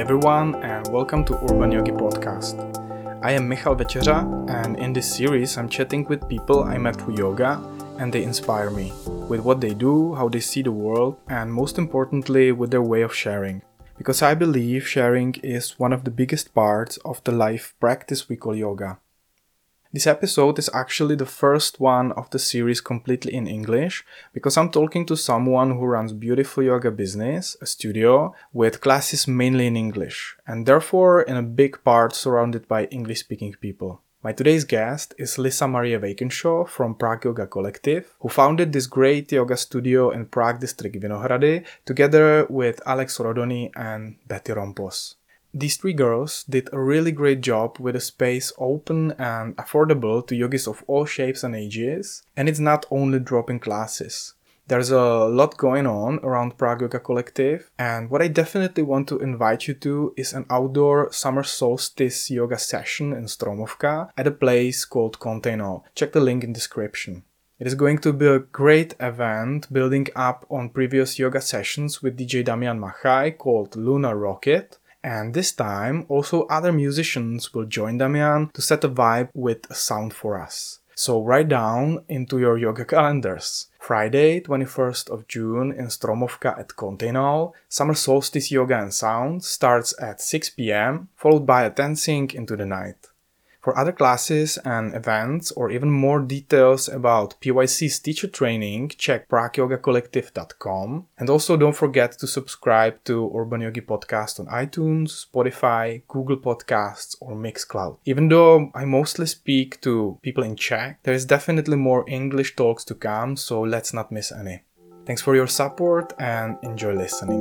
everyone, and welcome to Urban Yogi Podcast. I am Michal Večeřa, and in this series I'm chatting with people I met through yoga, and they inspire me with what they do, how they see the world, and most importantly with their way of sharing. Because I believe sharing is one of the biggest parts of the life practice we call yoga. This episode is actually the first one of the series completely in English, because I'm talking to someone who runs beautiful yoga business, a studio, with classes mainly in English, and therefore in a big part surrounded by English-speaking people. My today's guest is Lisa Marie Vejkenshaw from Prague Yoga Collective, who founded this great yoga studio in Prague district Vinohrady, together with Alex Rodony and Betty Rompos. These three girls did a really great job with a space open and affordable to yogis of all shapes and ages, and it's not only drop-in classes. There's a lot going on around Prague Yoga Collective, and what I definitely want to invite you to is an outdoor summer solstice yoga session in Stromovka at a place called Containal. Check the link in description. It is going to be a great event building up on previous yoga sessions with DJ Damian Machaj called Lunar Rocket. And this time, also other musicians will join Damian to set a vibe with a sound for us. So write down into your yoga calendars. Friday, 21st of June in Stromovka at Containal, Summer Solstice Yoga and Sound starts at 6 p.m, followed by a dancing into the night. For other classes and events, or even more details about PYC's teacher training, check pragueyogacollective.com. And also don't forget to subscribe to Urban Yogi Podcast on iTunes, Spotify, Google Podcasts, or Mixcloud. Even though I mostly speak to people in Czech, there is definitely more English talks to come, so let's not miss any. Thanks for your support and enjoy listening.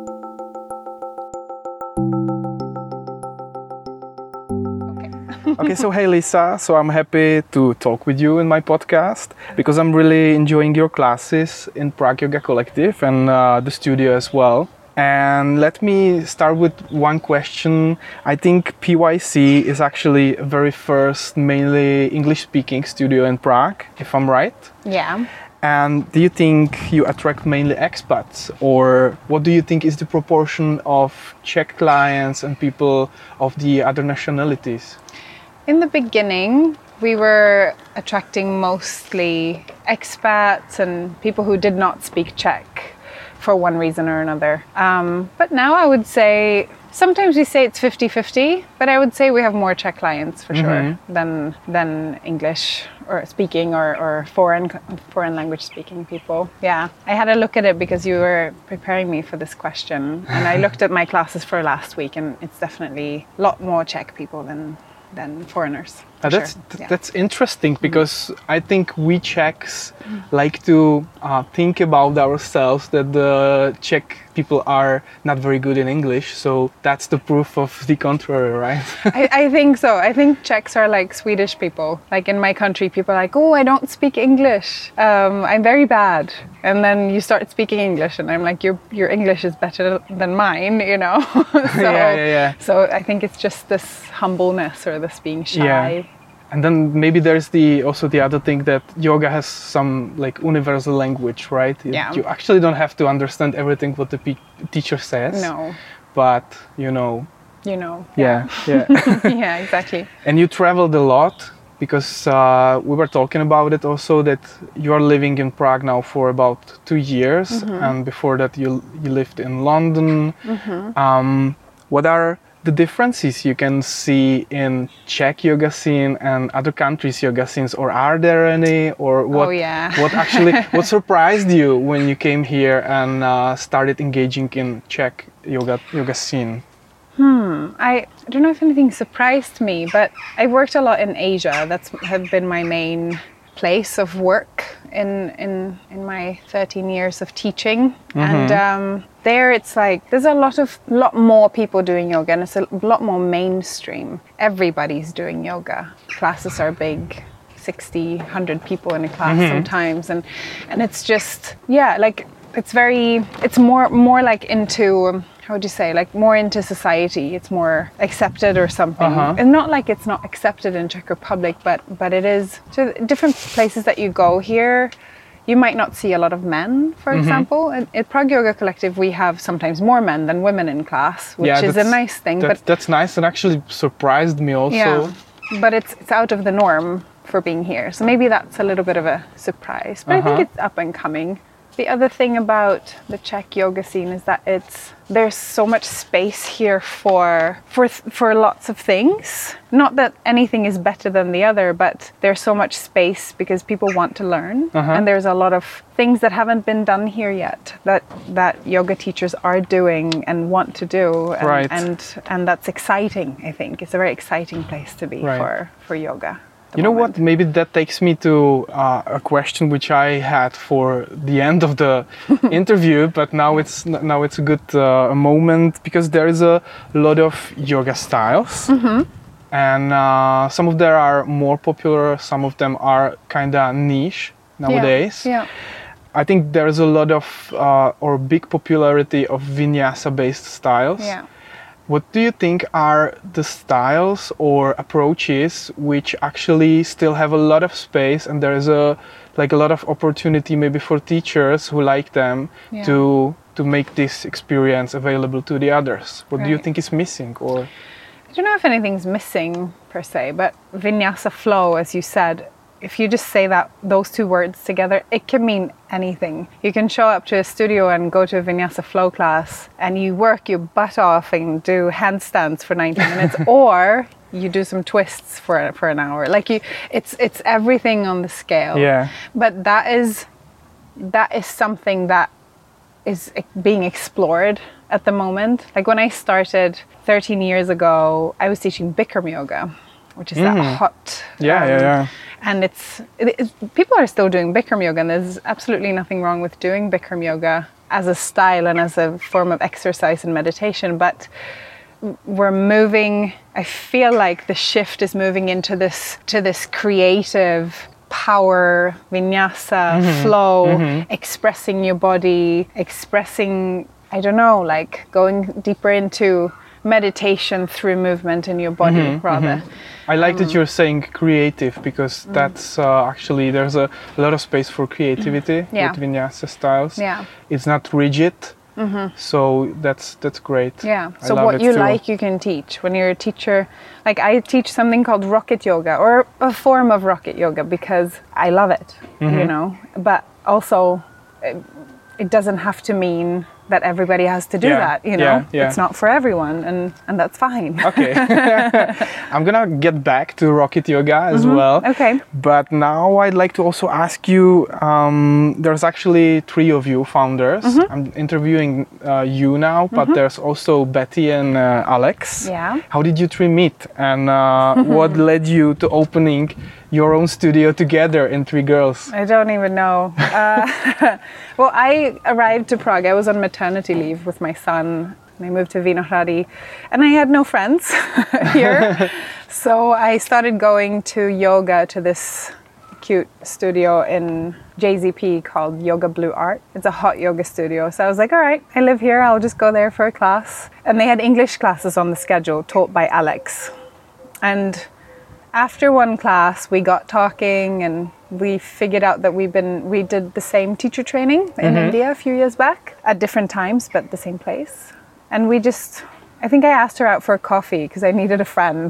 Okay, so hey Lisa, so I'm happy to talk with you in my podcast because I'm really enjoying your classes in Prague Yoga Collective and the studio as well. And let me start with one question. I think PYC is actually a very first mainly English-speaking studio in Prague, if I'm right. Yeah. And do you think you attract mainly expats, or what do you think is the proportion of Czech clients and people of the other nationalities? In the beginning, we were attracting mostly expats and people who did not speak Czech for one reason or another. But now I would say, sometimes we say it's 50-50, but I would say we have more Czech clients for sure than English or speaking or foreign language speaking people. Yeah, I had a look at it because you were preparing me for this question, and I looked at my classes for last week, and it's definitely a lot more Czech people than foreigners. That's interesting, because I think we Czechs like to think about ourselves that the Czech people are not very good in English, so that's the proof of the contrary, right? I think so. I think Czechs are like Swedish people. Like in my country, people are like, oh, I don't speak English. I'm very bad. And then you start speaking English and I'm like, your English is better than mine, you know? Yeah. So I think it's just this humbleness or this being shy. Yeah. And then maybe there's also the other thing that yoga has some like universal language, right? Yeah. You actually don't have to understand everything what the teacher says. No. But you know. Yeah. Yeah, exactly. And you traveled a lot, because we were talking about it also, that you are living in Prague now for about 2 years, and before that you lived in London. What are the differences you can see in Czech yoga scene and other countries' yoga scenes, or are there any? Or what? Oh, yeah. what surprised you when you came here and started engaging in Czech yoga scene? I don't know if anything surprised me, but I worked a lot in Asia. That's have been my main place of work in my 13 years of teaching. And there it's like there's a lot more people doing yoga, and it's a lot more mainstream. Everybody's doing yoga. Classes are big, 60, 100 people in a class sometimes, and it's just like it's more like into, how would you say, like more into society. It's more accepted or something. And not like it's not accepted in Czech Republic, but it is. To different places that you go here, you might not see a lot of men, for example. At Prague Yoga Collective, we have sometimes more men than women in class, which is a nice thing. That's nice and actually surprised me also. Yeah, but it's out of the norm for being here. So maybe that's a little bit of a surprise. But I think it's up and coming. The other thing about the Czech yoga scene is that there's so much space here for lots of things. Not that anything is better than the other, but there's so much space because people want to learn. And there's a lot of things that haven't been done here yet that yoga teachers are doing and want to do. And that's exciting, I think. It's a very exciting place to be for yoga. You know what? Maybe that takes me to a question which I had for the end of the interview, but now it's a good moment because there is a lot of yoga styles, and some of them are more popular, some of them are kind of niche nowadays. Yeah. I think there is a lot of or big popularity of vinyasa-based styles. Yeah. What do you think are the styles or approaches which actually still have a lot of space and there is a lot of opportunity maybe for teachers who like them to make this experience available to the others? What do you think is missing? Or I don't know if anything's missing per se, but vinyasa flow, as you said, if you just say those two words together, it can mean anything. You can show up to a studio and go to a vinyasa flow class and you work your butt off and do handstands for 90 minutes or you do some twists for an hour. It's everything on the scale. Yeah. But that is something that is being explored at the moment. Like when I started 13 years ago, I was teaching Bikram yoga, which is that hot. And people are still doing Bikram yoga, and there's absolutely nothing wrong with doing Bikram yoga as a style and as a form of exercise and meditation. But we're moving. I feel like the shift is moving into this creative power, vinyasa, flow, expressing your body, expressing. I don't know, like going deeper into meditation through movement in your body, rather. I like that you're saying creative because that's actually there's a lot of space for creativity with vinyasa styles. Yeah. It's not rigid, so that's great. Yeah. So what you like, you can teach. When you're a teacher, like I teach something called rocket yoga or a form of rocket yoga because I love it, you know. But also, it doesn't have to mean that everybody has to do that, you know. It's not for everyone, and that's fine. Okay. I'm gonna get back to rocket yoga as well. Okay. But now I'd like to also ask you, there's actually 3 of you founders. I'm interviewing you now, but there's also Betty and Alex. Yeah. How did you 3 meet? And what led you to opening your own studio together in 3 girls? I don't even know. Well, I arrived to Prague. I was on maternity leave with my son. And I moved to Vinohrady and I had no friends here. So I started going to yoga to this cute studio in JZP called Yoga Blue Art. It's a hot yoga studio. So I was like, all right, I live here. I'll just go there for a class. And they had English classes on the schedule taught by Alex. And after one class, we got talking and we figured out that we did the same teacher training in India a few years back at different times, but the same place. And I think I asked her out for a coffee because I needed a friend.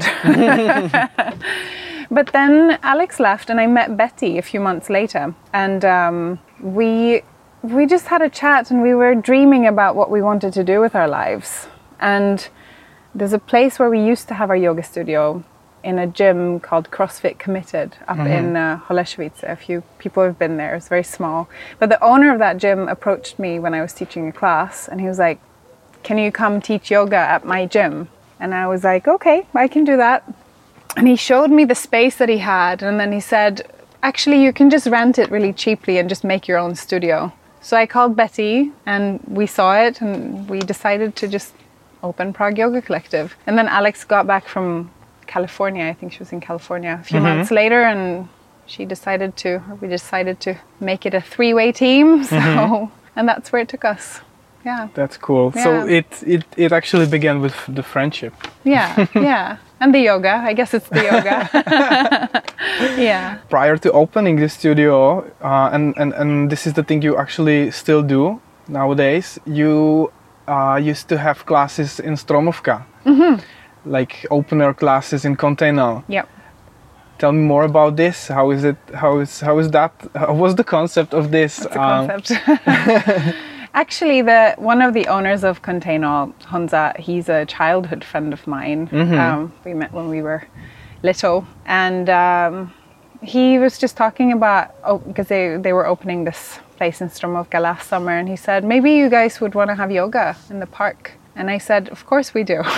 But then Alex left and I met Betty a few months later. And we just had a chat and we were dreaming about what we wanted to do with our lives. And there's a place where we used to have our yoga studio in a gym called CrossFit Committed up in Holešovice. A few people have been there. It's very small. But the owner of that gym approached me when I was teaching a class and he was like, can you come teach yoga at my gym? And I was like, okay, I can do that. And he showed me the space that he had and then he said, actually you can just rent it really cheaply and just make your own studio. So I called Betty and we saw it and we decided to just open Prague Yoga Collective. And then Alex got back from California. I think she was in California a few months later and we decided to make it a 3-way team. So, and that's where it took us. Yeah. That's cool. Yeah. So it actually began with the friendship. Yeah, yeah. And the yoga. I guess it's the yoga. Yeah. Prior to opening the studio, and this is the thing you actually still do nowadays, you used to have classes in Stromovka, like opener classes in Kontejno. Yep. Tell me more about this. How is it? How is that? What's the concept of this? What's the concept? Actually, one of the owners of Kontejno, Honza, he's a childhood friend of mine. We met when we were little, and he was just talking about, because they were opening this place in Stromovka last summer, and he said, maybe you guys would want to have yoga in the park. And I said, of course we do.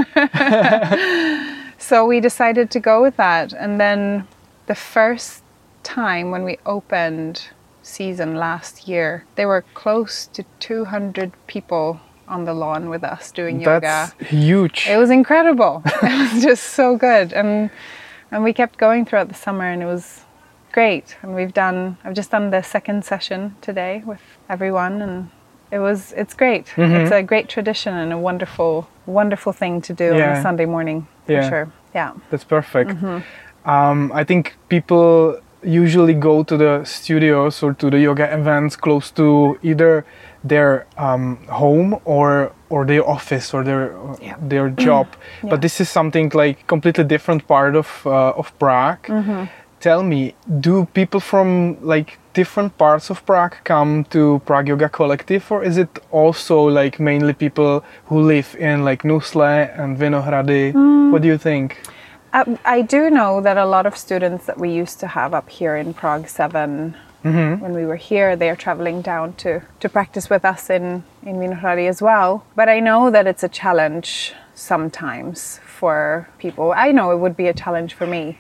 So we decided to go with that. And then the first time when we opened season last year, there were close to 200 people on the lawn with us doing yoga. That's huge. It was incredible. It was just so good. And we kept going throughout the summer, and it was great. And I've just done the second session today with everyone, and it's great. It's a great tradition and a wonderful thing to do on a Sunday morning, for sure. Yeah. That's perfect. I think people usually go to the studios or to the yoga events close to either their home or their office or their job. But this is something like completely different part of Prague. Tell me, do people from like different parts of Prague come to Prague Yoga Collective, or is it also like mainly people who live in like Nusle and Vinohrady? What do you think? I do know that a lot of students that we used to have up here in Prague 7, when we were here, they are traveling down to practice with us in Vinohrady as well. But I know that it's a challenge sometimes for people. I know it would be a challenge for me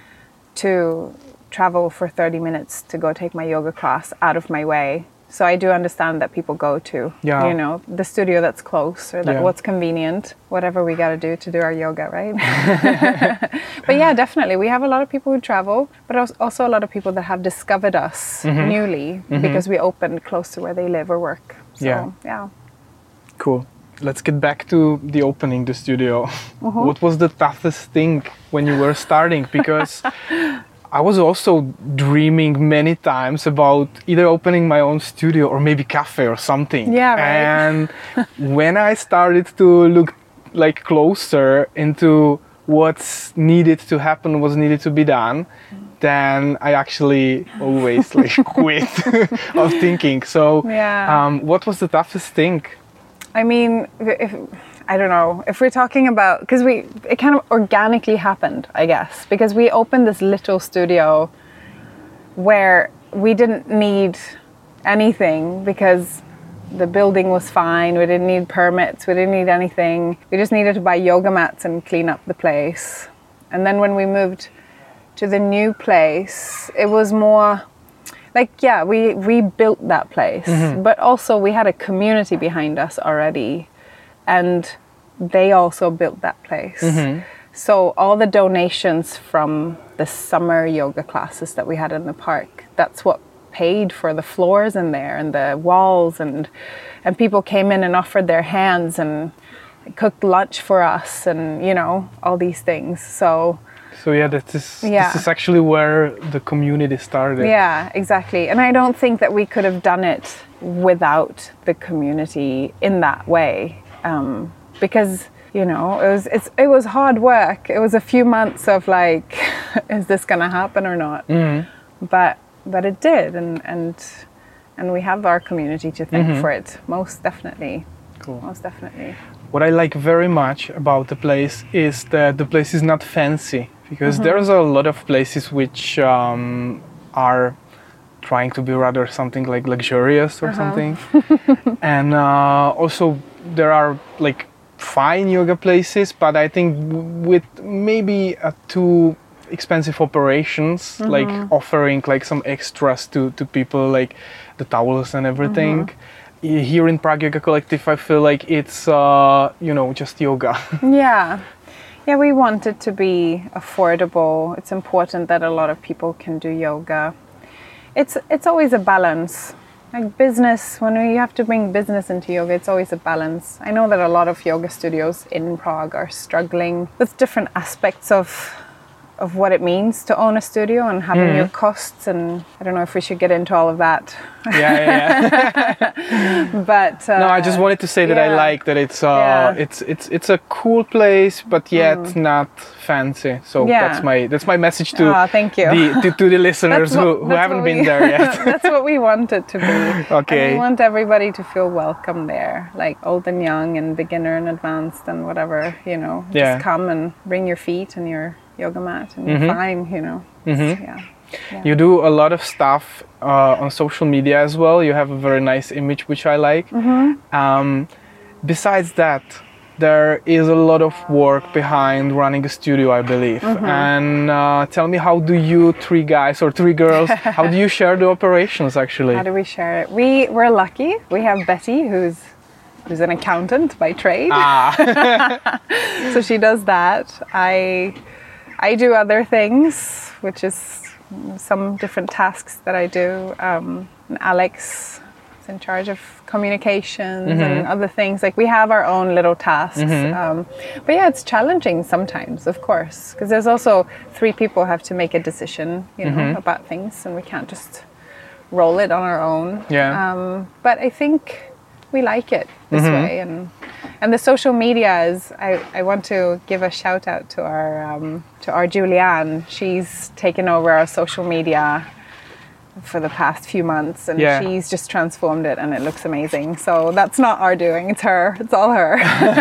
to travel for 30 minutes to go take my yoga class out of my way. So I do understand that people go to, the studio that's close or what's convenient, whatever we got to do our yoga, right? But yeah, definitely. We have a lot of people who travel, but also a lot of people that have discovered us newly because we opened close to where they live or work. So, yeah. Cool. Let's get back to the opening the studio. What was the toughest thing when you were starting? Because I was also dreaming many times about either opening my own studio or maybe cafe or something. Yeah, right. And when I started to look like closer into what's needed to happen, what's needed to be done, then I actually always like quit of thinking. So what was the toughest thing? I mean, I don't know, if we're talking about, because it kind of organically happened, I guess, because we opened this little studio where we didn't need anything because the building was fine, we didn't need permits, we didn't need anything. We just needed to buy yoga mats and clean up the place. And then when we moved to the new place, it was more like, we rebuilt that place, but also we had a community behind us already, and they also built that place. So all the donations from the summer yoga classes that we had in the park, that's what paid for the floors in there and the walls, and people came in and offered their hands and cooked lunch for us, and all these things. So this is actually where the community started. Yeah, exactly. And I don't think that we could have done it without the community in that way, because it was hard work. It was a few months of like, is this gonna happen or not? But it did, and we have our community to thank for it, most definitely. Cool. Most definitely. What I like very much about the place is that the place is not fancy, because there's a lot of places which are trying to be rather something like luxurious or something. And also there are like fine yoga places, but I think with maybe too expensive operations, like offering like some extras to people, like the towels and everything. Here in Prague Yoga Collective, I feel like it's just yoga. Yeah, we want it to be affordable. It's important that a lot of people can do yoga. It's always a balance. Like business, when you have to bring business into yoga, it's always a balance. I know that a lot of yoga studios in Prague are struggling with different aspects of of what it means to own a studio and having your costs, and I don't know if we should get into all of that. But no, I just wanted to say that I like that it's a cool place, but yet not fancy. So that's my message to thank you. to the listeners who haven't been there yet. That's what we want it to be. Okay. And we want everybody to feel welcome there, like old and young and beginner and advanced and whatever, you know. Just come and bring your feet and your yoga mat and you're fine, you know. Yeah. You do a lot of stuff on social media as well. You have a very nice image, which I like. Besides that, there is a lot of work behind running a studio, I believe. And tell me, how do you 3 guys or 3 girls, how do you share the operations actually? How do we share it? We're lucky. We have Betty, who's an accountant by trade. So she does that. I do other things, which is some different tasks that I do. And Alex is in charge of communications and other things. Like we have our own little tasks. But yeah, it's challenging sometimes, of course, because there's also 3 people have to make a decision, you know, about things, and we can't just roll it on our own. But I think we like it this way, and the social media is. I want to give a shout out to our Julianne. She's taken over our social media for the past few months, and she's just transformed it, and it looks amazing. So that's not our doing; it's her. It's all her.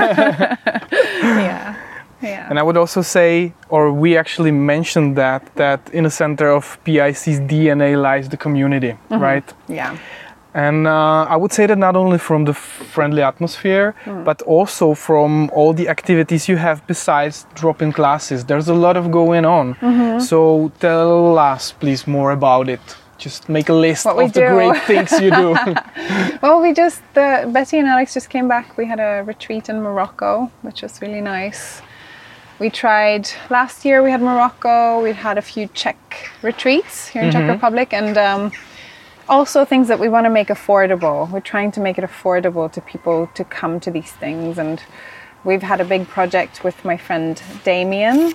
Yeah. And I would also say, or we actually mentioned that in the center of PIC's DNA lies the community, right? Yeah. And I would say that not only from the friendly atmosphere, but also from all the activities you have besides drop-in classes. There's a lot of going on. So tell us, please, more about it. Just make a list of the great things you do. Well, Betty and Alex just came back. We had a retreat in Morocco, which was really nice. We tried, last year we had Morocco, we had a few Czech retreats here in Czech Republic, and also things that we want to make affordable. We're trying to make it affordable to people to come to these things. And we've had a big project with my friend Damien,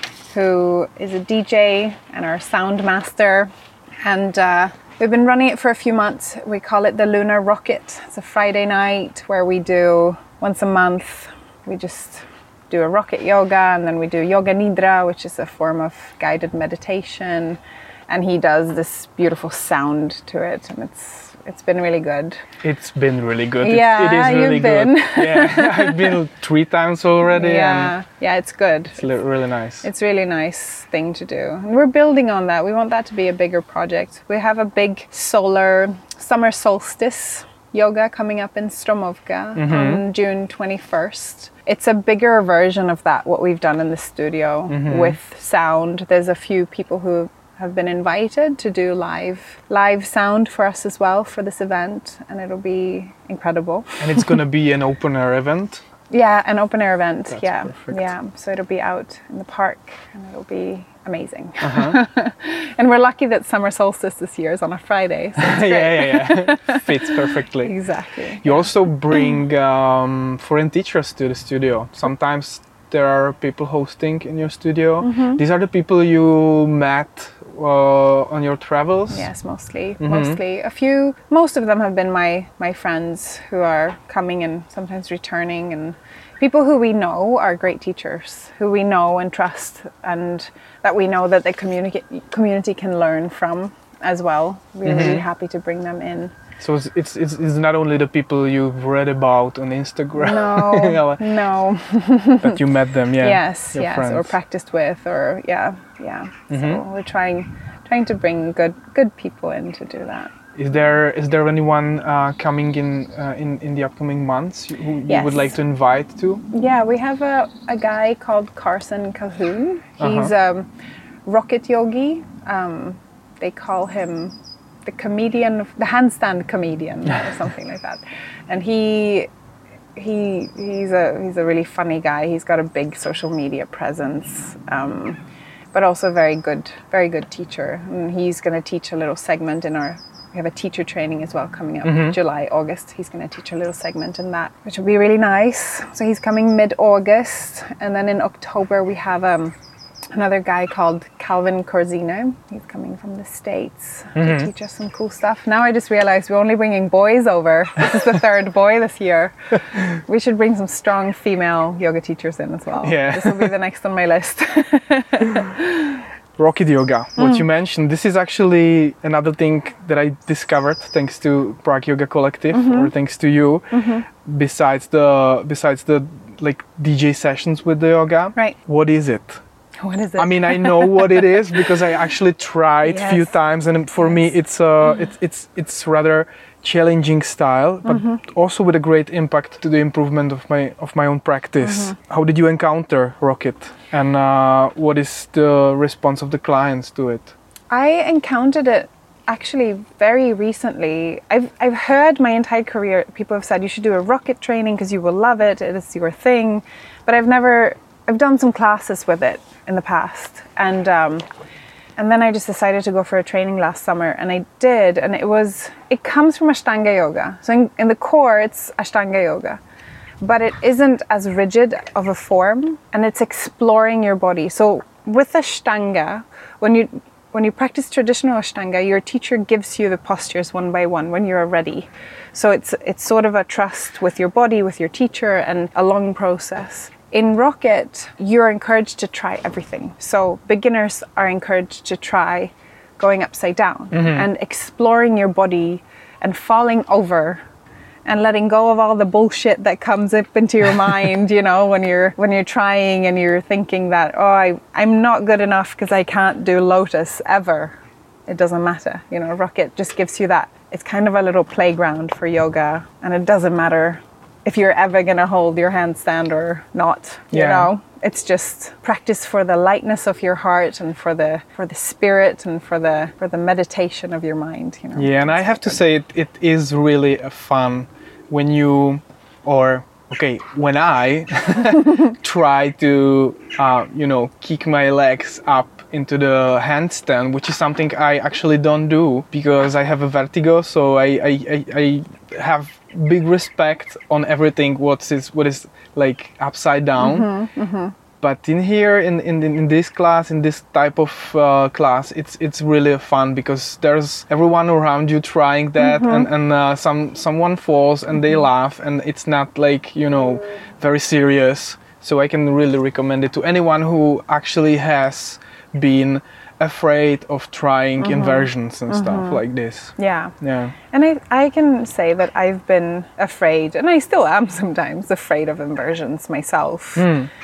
who is a DJ and our sound master. And we've been running it for a few months. We call it the Lunar Rocket. It's a Friday night where we do, once a month, we just do a rocket yoga, and then we do yoga nidra, which is a form of guided meditation. And he does this beautiful sound to it, and it's been really good. It's been really good. Yeah, it is really you've been. good. Yeah, I've been 3 times already. Yeah, it's good. It's really nice. It's really nice thing to do. And we're building on that. We want that to be a bigger project. We have a big solar summer solstice yoga coming up in Stromovka on June 21st. It's a bigger version of that, what we've done in the studio with sound. There's a few people who have been invited to do live sound for us as well for this event, and it'll be incredible. And it's going to be an open air event? Yeah, an open air event. That's perfect. Yeah. So it'll be out in the park, and it'll be amazing. And we're lucky that summer solstice this year is on a Friday. So it's great. Yeah. Fits perfectly. Exactly. You also bring foreign teachers to the studio. Sometimes there are people hosting in your studio. These are the people you met on your travels? Yes, mostly. Most of them have been my friends who are coming and sometimes returning, and people who we know are great teachers, who we know and trust, and that we know that the community can learn from as well. We're really happy to bring them in. So it's not only the people you've read about on Instagram. No. That you met them, Yes, friends. or practiced with, or So we're trying to bring good people in to do that. Is there anyone coming in the upcoming months who you would like to invite to? Yeah, we have a guy called Carson Calhoun. He's a rocket yogi. They call him the comedian, the handstand comedian, or something like that. And he's a really funny guy. He's got a big social media presence, but also very good teacher. And he's going to teach a little segment in our. We have a teacher training as well coming up July, August. He's going to teach a little segment in that, which will be really nice. So he's coming mid-August, and then in October we have another guy called Calvin Corzine. He's coming from the States to teach us some cool stuff. Now I just realized we're only bringing boys over. This is the third boy this year. We should bring some strong female yoga teachers in as well. Yeah. This will be the next on my list. Rocket yoga, what you mentioned, this is actually another thing that I discovered thanks to Prague Yoga Collective, or thanks to you, besides the like DJ sessions with the yoga. Right. What is it? What is it? I mean, I know what it is because I actually tried a few times, and for me it's rather challenging style, but also with a great impact to the improvement of my own practice. How did you encounter Rocket, and what is the response of the clients to it? I encountered it actually very recently. I've heard my entire career people have said you should do a Rocket training because you will love it. It is your thing, but I've done some classes with it in the past, and then I just decided to go for a training last summer, and I did, and it comes from Ashtanga yoga. So in the core, it's Ashtanga yoga, but it isn't as rigid of a form, and it's exploring your body. So with Ashtanga, when you practice traditional Ashtanga, your teacher gives you the postures one by one when you're ready. So it's sort of a trust with your body, with your teacher, and a long process. In Rocket, you're encouraged to try everything. So beginners are encouraged to try going upside down and exploring your body and falling over and letting go of all the bullshit that comes up into your mind, you know, when you're trying and you're thinking that, I'm not good enough because I can't do Lotus ever. It doesn't matter. You know, Rocket just gives you that. It's kind of a little playground for yoga, and it doesn't matter if you're ever going to hold your handstand or not, you know. It's just practice for the lightness of your heart and for the spirit and for the meditation of your mind, you know. Yeah, and I have to say it is really fun when when I try to kick my legs up into the handstand, which is something I actually don't do because I have a vertigo, so I have big respect on everything what is like upside down. But in here in this class, in this type of class, it's really fun because there's everyone around you trying that, and someone falls and they laugh, and it's not like, you know, very serious. So I can really recommend it to anyone who actually has been afraid of trying inversions and stuff like this. Yeah. And I can say that I've been afraid, and I still am sometimes afraid of inversions myself.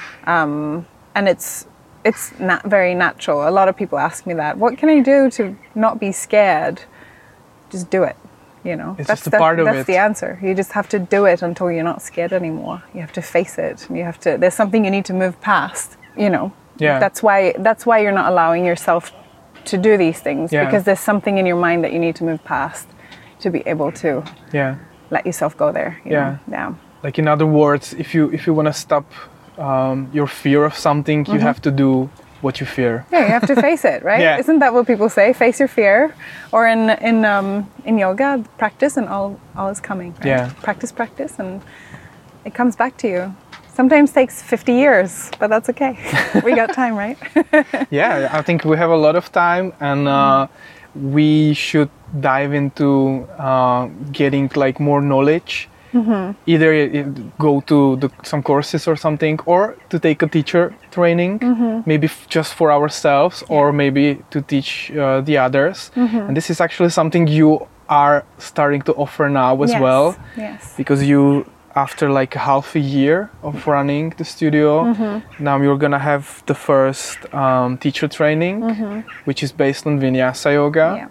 And it's not very natural. A lot of people ask me that. What can I do to not be scared? Just do it. You know, that's just a part of it. That's the answer. You just have to do it until you're not scared anymore. You have to face it. And there's something you need to move past, you know. Yeah. That's why you're not allowing yourself to do these things, because there's something in your mind that you need to move past to be able to let yourself go there. You know? Yeah. Like, in other words, if you want to stop your fear of something, you have to do what you fear. Yeah, you have to face it, right? Yeah. Isn't that what people say? Face your fear. Or in yoga, practice and all is coming. Right? Yeah. Practice, and it comes back to you. Sometimes takes 50 years, but that's okay. We got time, right? Yeah, I think we have a lot of time, and we should dive into getting like more knowledge. Either go to some courses or something, or to take a teacher training, maybe just for ourselves, or maybe to teach the others. And this is actually something you are starting to offer now as well. Yes. Because you, after like half a year of running the studio, now you're gonna have the first teacher training, which is based on Vinyasa yoga.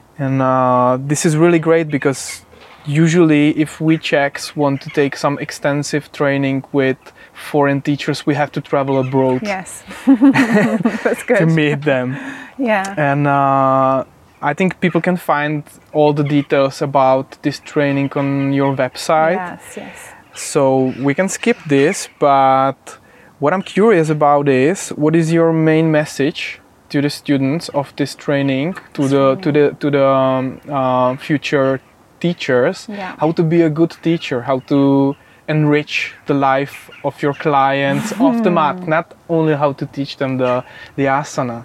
And this is really great because usually if we Czechs want to take some extensive training with foreign teachers, we have to travel abroad. Yes. That's good. To meet them. Yeah. And I think people can find all the details about this training on your website. Yes. So we can skip this, but what I'm curious about is, what is your main message to the students of this training, to the future teachers? How to be a good teacher, how to enrich the life of your clients off the mat, not only how to teach them the asana?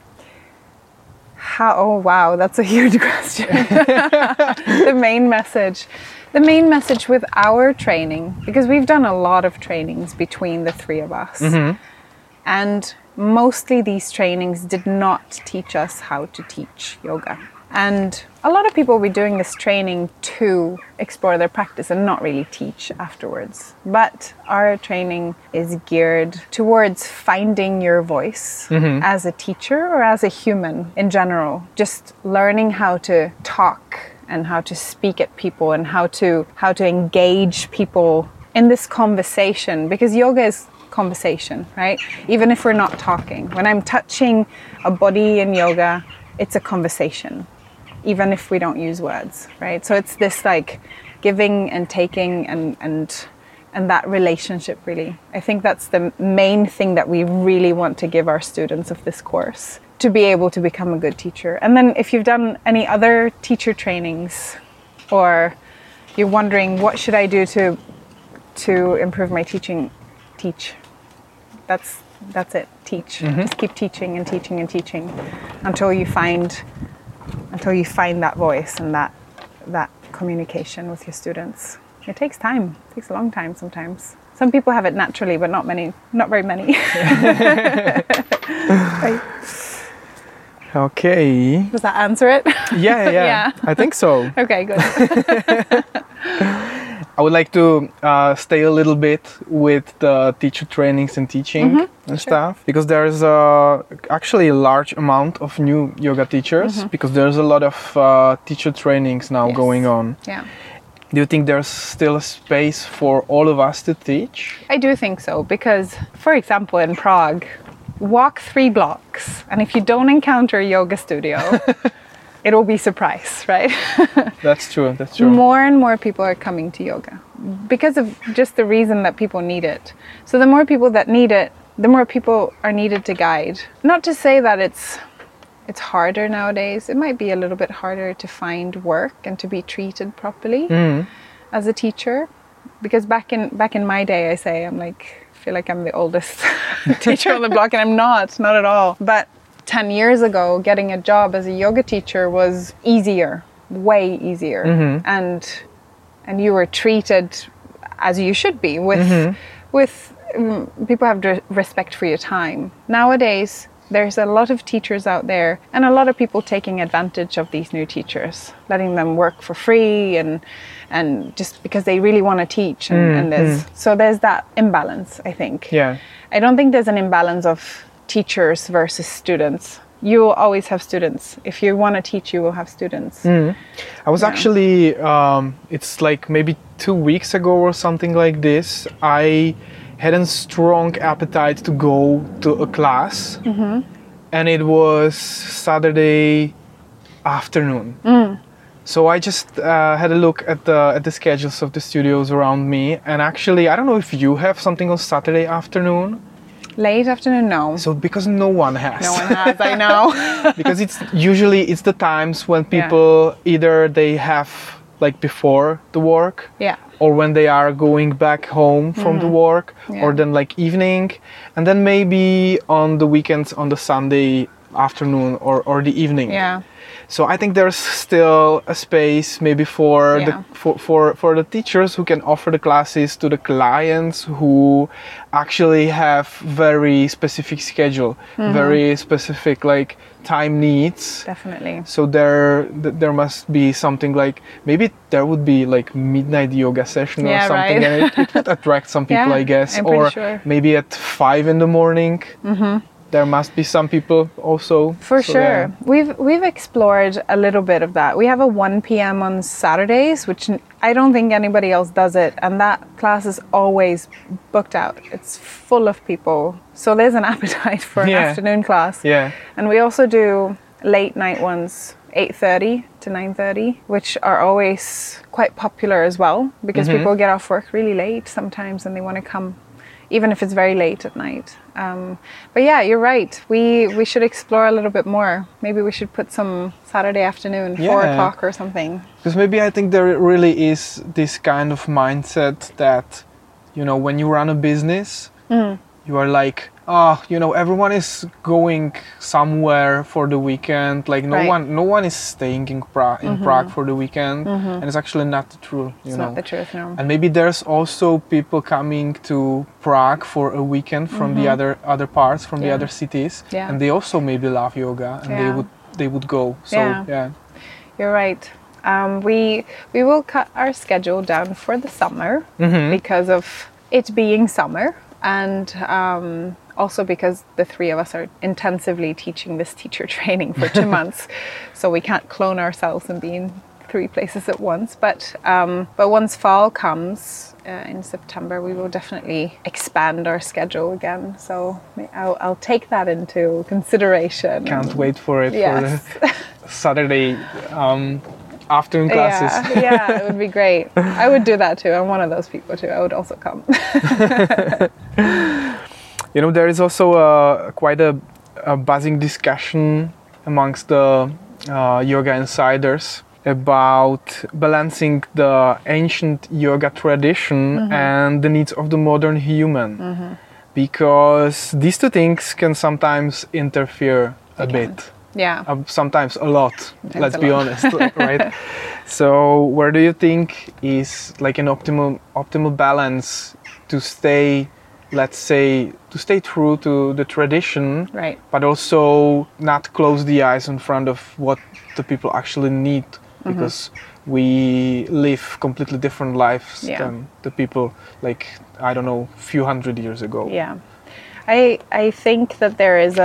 Oh wow, that's a huge question. The main message with our training, because we've done a lot of trainings between the three of us, and mostly these trainings did not teach us how to teach yoga. And a lot of people will be doing this training to explore their practice and not really teach afterwards. But our training is geared towards finding your voice as a teacher or as a human in general. Just learning how to talk and how to speak at people and how to engage people in this conversation, because yoga is conversation, right? Even if we're not talking. When I'm touching a body in yoga, it's a conversation, even if we don't use words, right? So it's this like giving and taking and that relationship, really. I think that's the main thing that we really want to give our students of this course, to be able to become a good teacher. And then if you've done any other teacher trainings, or you're wondering what should I do to improve my teaching, teach. That's it. Teach. Just keep teaching and teaching and teaching until you find that voice and that communication with your students. It takes time. It takes a long time sometimes. Some people have it naturally, but not very many. Right. Okay. Does that answer it? Yeah. I think so. Okay, good. I would like to stay a little bit with the teacher trainings and teaching and stuff, because there's actually a large amount of new yoga teachers, because there's a lot of teacher trainings now going on. Yeah. Do you think there's still a space for all of us to teach? I do think so, because, for example, in Prague, walk 3 blocks, and if you don't encounter a yoga studio, it'll be a surprise, right? That's true. More and more people are coming to yoga because of just the reason that people need it. So the more people that need it, the more people are needed to guide. Not to say that it's harder nowadays. It might be a little bit harder to find work and to be treated properly as a teacher. Because back in my day, I feel like I'm the oldest teacher on the block, and I'm not at all. But 10 years ago, getting a job as a yoga teacher was easier, way easier. And you were treated as you should be, with people have respect for your time. Nowadays, there's a lot of teachers out there, and a lot of people taking advantage of these new teachers, letting them work for free and just because they really want to teach. So there's that imbalance, I think. Yeah. I don't think there's an imbalance of teachers versus students. You will always have students. If you want to teach, you will have students. I was actually, it's like maybe 2 weeks ago or something like this, I had a strong appetite to go to a class, and it was Saturday afternoon. So I just had a look at the schedules of the studios around me, and actually, I don't know if you have something on Saturday afternoon. Late afternoon, no. So because no one has. No one has, I know. Because it's the times when people either they have like before the work, or when they are going back home from the work, or then like evening, and then maybe on the weekends on the Sunday afternoon or the evening. Yeah. So I think there's still a space maybe for the teachers who can offer the classes to the clients who actually have very specific schedule, very specific like time needs. Definitely. So there must be something like, maybe there would be like midnight yoga session or something, right. and it would attract some people, I guess. I'm or sure. maybe at 5 a.m. There must be some people also. For sure. Yeah. We've explored a little bit of that. We have a 1 p.m. on Saturdays, which I don't think anybody else does it. And that class is always booked out. It's full of people. So there's an appetite for an afternoon class. Yeah. And we also do late night ones, 8:30 to 9:30, which are always quite popular as well, because people get off work really late sometimes and they want to come, even if it's very late at night. But yeah, you're right. We should explore a little bit more. Maybe we should put some Saturday afternoon, 4 o'clock or something. Because maybe I think there really is this kind of mindset that when you run a business, you are like, everyone is going somewhere for the weekend. Like no one is staying in Prague for the weekend, and it's actually not true. It's not the truth, no. And maybe there's also people coming to Prague for a weekend from the other parts, from the other cities, and they also maybe love yoga, and they would go. So You're right. We will cut our schedule down for the summer because of it being summer, and also because the three of us are intensively teaching this teacher training for 2 months, so we can't clone ourselves and be in 3 places at once. But once fall comes in September, we will definitely expand our schedule again. So I'll take that into consideration. Can't wait for it. Yes. For the Saturday afternoon classes. Yeah, it would be great. I would do that too. I'm one of those people too. I would also come. There is also quite a buzzing discussion amongst the yoga insiders about balancing the ancient yoga tradition and the needs of the modern human, because these two things can sometimes interfere a bit. Yeah. Sometimes a lot. Let's be honest, right? So where do you think is like an optimal balance to stay, let's say, to stay true to the tradition, right, but also not close the eyes in front of what the people actually need, because we live completely different lives than the people, like, I don't know, few hundred years ago. Yeah. I think that there's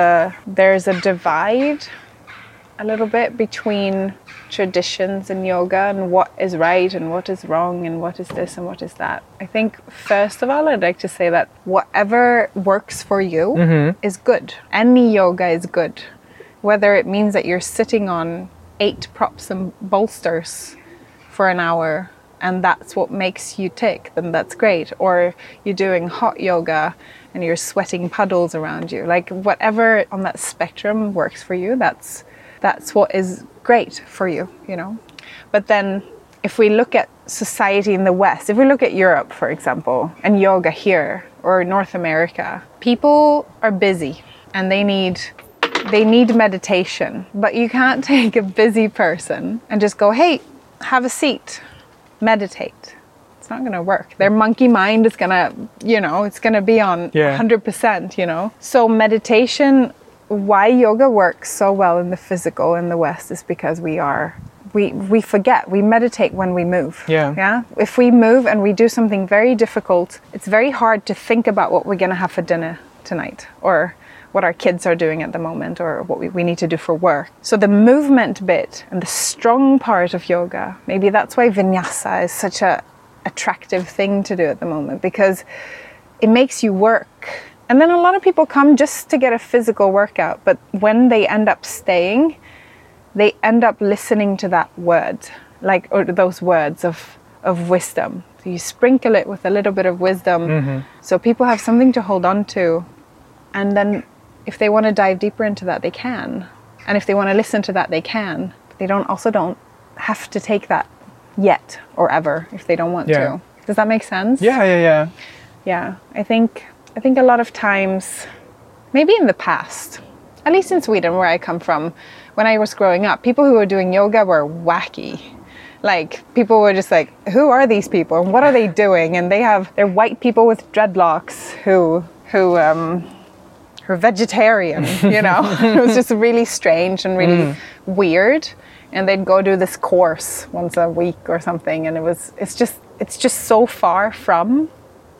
a divide a little bit between traditions in yoga and what is right and what is wrong and what is this and what is that. I think first of all, I'd like to say that whatever works for you is good. Any yoga is good. Whether it means that you're sitting on 8 props and bolsters for an hour and that's what makes you tick, then that's great. Or you're doing hot yoga and you're sweating puddles around you. Like whatever on that spectrum works for you, that's what is great for you, But then if we look at society in the West, if we look at Europe, for example, and yoga here or North America, people are busy and they need meditation. But you can't take a busy person and just go, hey, have a seat, meditate. It's not going to work. Their monkey mind is going to, it's going to be on 100%, So meditation, why yoga works so well in the physical in the West is because we forget. We meditate when we move. Yeah. If we move and we do something very difficult, it's very hard to think about what we're going to have for dinner tonight, or what our kids are doing at the moment, or what we need to do for work. So the movement bit and the strong part of yoga, maybe that's why vinyasa is such a attractive thing to do at the moment, because it makes you work. And then a lot of people come just to get a physical workout, but when they end up staying, they end up listening to that word, or those words of wisdom. So you sprinkle it with a little bit of wisdom, so people have something to hold on to. And then if they want to dive deeper into that, they can. And if they want to listen to that, they can. They don't have to take that yet or ever if they don't want to. Does that make sense? Yeah. Yeah, I think a lot of times, maybe in the past, at least in Sweden where I come from, when I was growing up, people who were doing yoga were wacky. Like, people were just like, who are these people and what are they doing? And they're white people with dreadlocks who are vegetarian, It was just really strange and really weird. And they'd go do this course once a week or something, and it's just so far from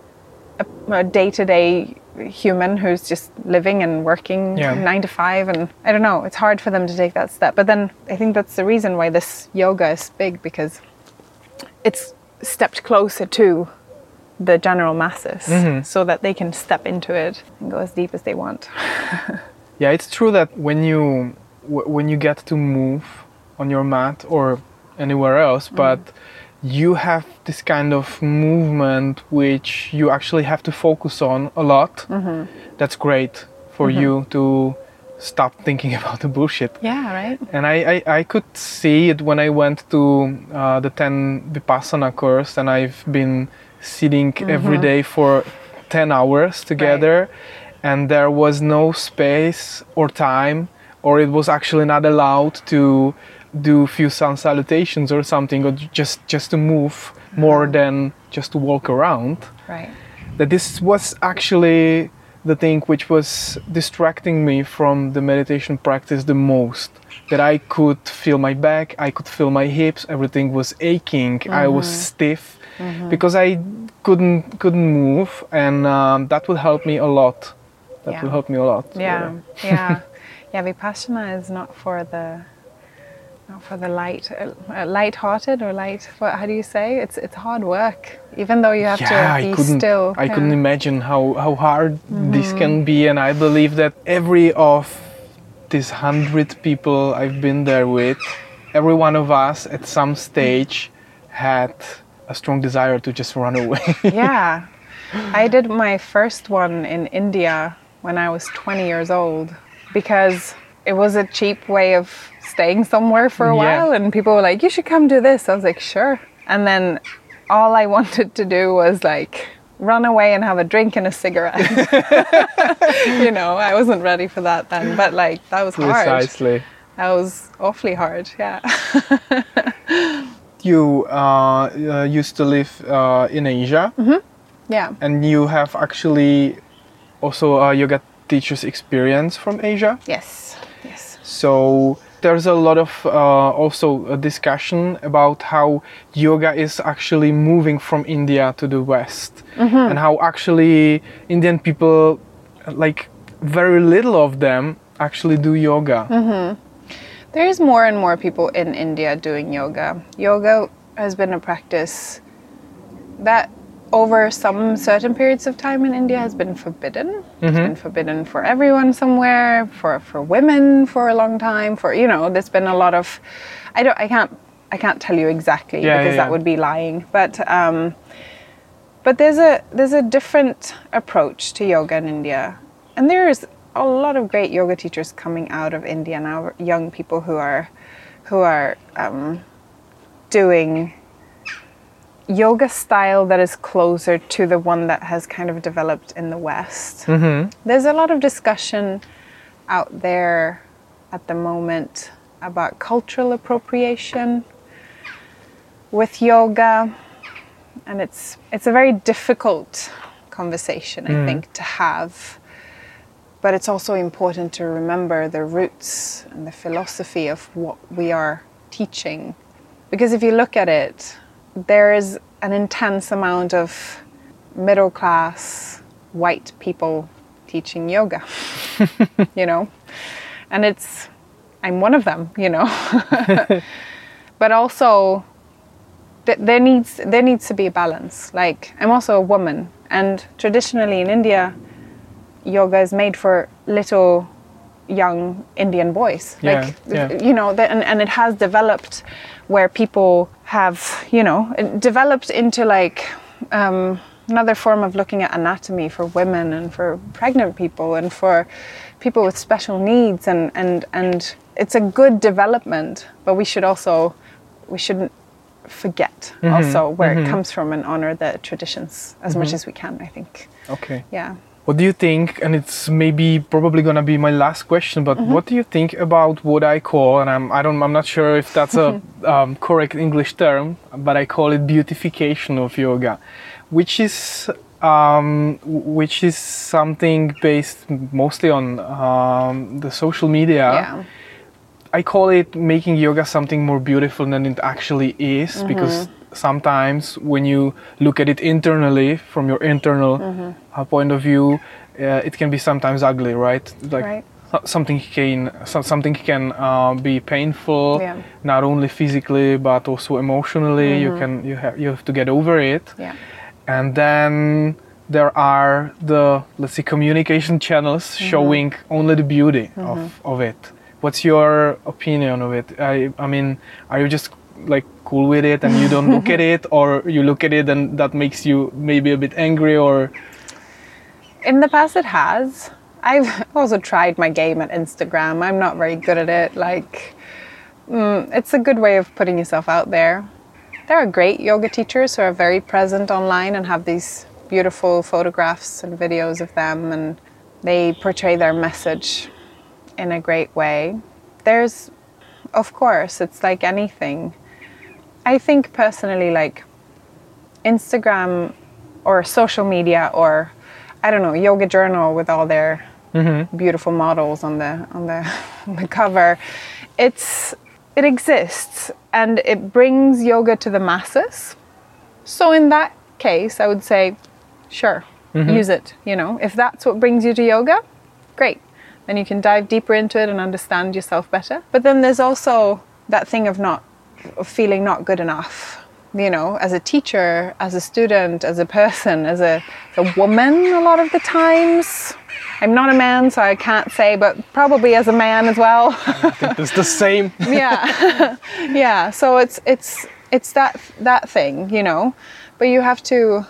a day-to-day human who's just living and working 9 to 5, and I don't know, it's hard for them to take that step. But then I think that's the reason why this yoga is big, because it's stepped closer to the general masses, so that they can step into it and go as deep as they want. Yeah, it's true that when you get to move on your mat or anywhere else, but you have this kind of movement which you actually have to focus on a lot. That's great for you to stop thinking about the bullshit. Yeah, right. And I could see it when I went to the 10 Vipassana course, and I've been sitting every day for 10 hours together, and there was no space or time, or it was actually not allowed to do few sun salutations or something, or just to move more than just to walk around. Right. That this was actually the thing which was distracting me from the meditation practice the most. That I could feel my back, I could feel my hips, everything was aching, I was stiff because I couldn't move, and that would help me a lot. That will help me a lot. Yeah. Vipassana is not for the light-hearted or light. How do you say? It's hard work. Even though you have to be still. I couldn't imagine how hard this can be, and I believe that every of these 100 people I've been there with, every one of us at some stage had a strong desire to just run away. Yeah. I did my first one in India when I was 20 years old because it was a cheap way of staying somewhere for a while, and people were like, you should come do this. I was like, sure. And then all I wanted to do was like run away and have a drink and a cigarette. You know, I wasn't ready for that then, but like that was hard. Precisely. That was awfully hard, yeah. You used to live in Asia. Yeah. And you have actually also a yoga teacher's experience from Asia. Yes. So there's a lot of also a discussion about how yoga is actually moving from India to the West, and how actually Indian people, like very little of them, actually do yoga. There's more and more people in India doing yoga. Yoga has been a practice that over some certain periods of time in India has been forbidden. It's been forbidden for everyone somewhere, for women for a long time, there's been a lot of, I can't tell you exactly because that would be lying, but there's a different approach to yoga in India, and there's a lot of great yoga teachers coming out of India now, young people who are doing yoga style that is closer to the one that has kind of developed in the West. There's a lot of discussion out there at the moment about cultural appropriation with yoga, and it's a very difficult conversation, I think, to have. But it's also important to remember the roots and the philosophy of what we are teaching. Because if you look at it, there is an intense amount of middle class white people teaching yoga, and I'm one of them, but also there needs to be a balance. Like, I'm also a woman, and traditionally in India, yoga is made for little young Indian boys. And it has developed where people have, developed into like another form of looking at anatomy for women and for pregnant people and for people with special needs, and it's a good development, but we shouldn't forget also where it comes from and honor the traditions as much as we can, I think. Okay. Yeah. What do you think, and it's probably gonna be my last question, but what do you think about what I call, and I'm not sure if that's a correct English term, but I call it beautification of yoga, which is something based mostly on the social media. Yeah. I call it making yoga something more beautiful than it actually is, because sometimes when you look at it internally, from your internal point of view, it can be sometimes ugly, right? Like something can be painful, not only physically but also emotionally. You have to get over it. Yeah. And then there are the, let's say, communication channels showing only the beauty of it. What's your opinion of it? I mean, are you just like cool with it and you don't look at it, or you look at it and that makes you maybe a bit angry? Or in the past it has. I've also tried my game at Instagram. I'm not very good at it. Like, it's a good way of putting yourself out there. There are great yoga teachers who are very present online and have these beautiful photographs and videos of them, and they portray their message in a great way. There's, of course, it's like anything. I think personally, like Instagram or social media or, I don't know, Yoga Journal with all their beautiful models on the cover, it exists and it brings yoga to the masses. So in that case, I would say, sure, use it. You know, if that's what brings you to yoga, great. Then you can dive deeper into it and understand yourself better. But then there's also that thing of feeling not good enough. You know, as a teacher, as a student, as a person, as a woman, a lot of the times. I'm not a man, so I can't say, but probably as a man as well. I think it's the same. Yeah, yeah. So it's that thing, you know. But you have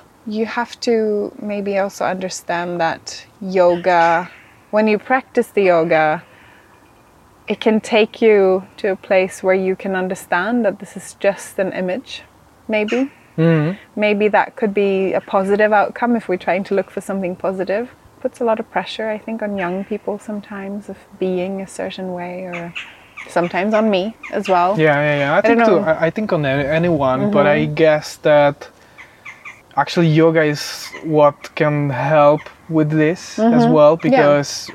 to maybe also understand that yoga, when you practice the yoga, it can take you to a place where you can understand that this is just an image, maybe. Maybe that could be a positive outcome if we're trying to look for something positive. Puts a lot of pressure, I think, on young people sometimes of being a certain way, or sometimes on me as well. Yeah. I think on anyone, but I guess that actually yoga is what can help with this as well, because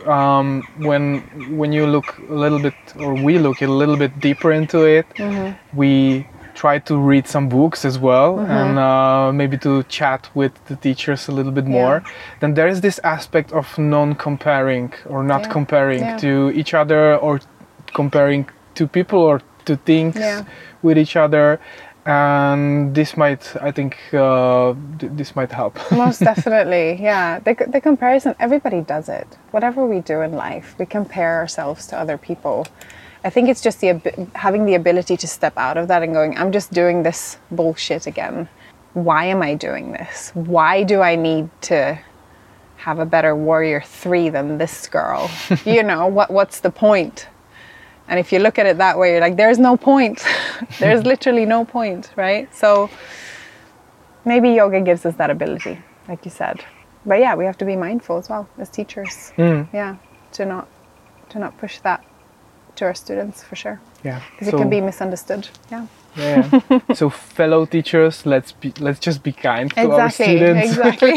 when you look a little bit, or we look a little bit deeper into it, we try to read some books as well, and maybe to chat with the teachers a little bit more. Then there is this aspect of non-comparing or not comparing to each other, or comparing to people or to things with each other. And this might, I think, this might help. Most definitely, yeah. The comparison, everybody does it. Whatever we do in life, we compare ourselves to other people. I think it's just having the ability to step out of that and going, I'm just doing this bullshit again. Why am I doing this? Why do I need to have a better warrior 3 than this girl? You know, what's the point? And if you look at it that way, you're like, there's no point. There's literally no point, right? So maybe yoga gives us that ability, like you said. But yeah, we have to be mindful as well as teachers. Yeah, to not push that to our students, for sure. Yeah, because it can be misunderstood. Yeah. So fellow teachers, let's just be kind to our students. Exactly.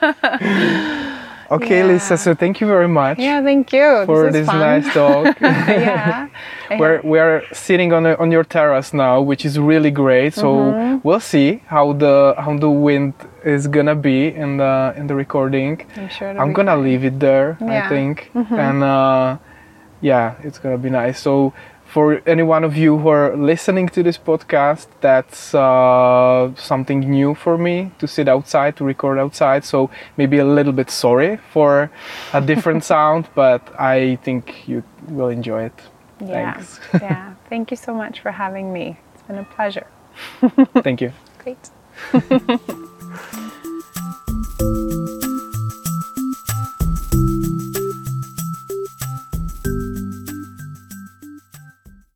Okay, Lisa, so thank you very much. Yeah, thank you. For this nice talk. Yeah. We're sitting on your terrace now, which is really great. So we'll see how the wind is gonna be in the recording. I'm sure I'm gonna leave it there, I think. And yeah, it's gonna be nice. So for any one of you who are listening to this podcast, that's something new for me, to sit outside, to record outside. So maybe a little bit sorry for a different sound, but I think you will enjoy it. Yeah. Thanks. Yeah. Thank you so much for having me. It's been a pleasure. Thank you. Great.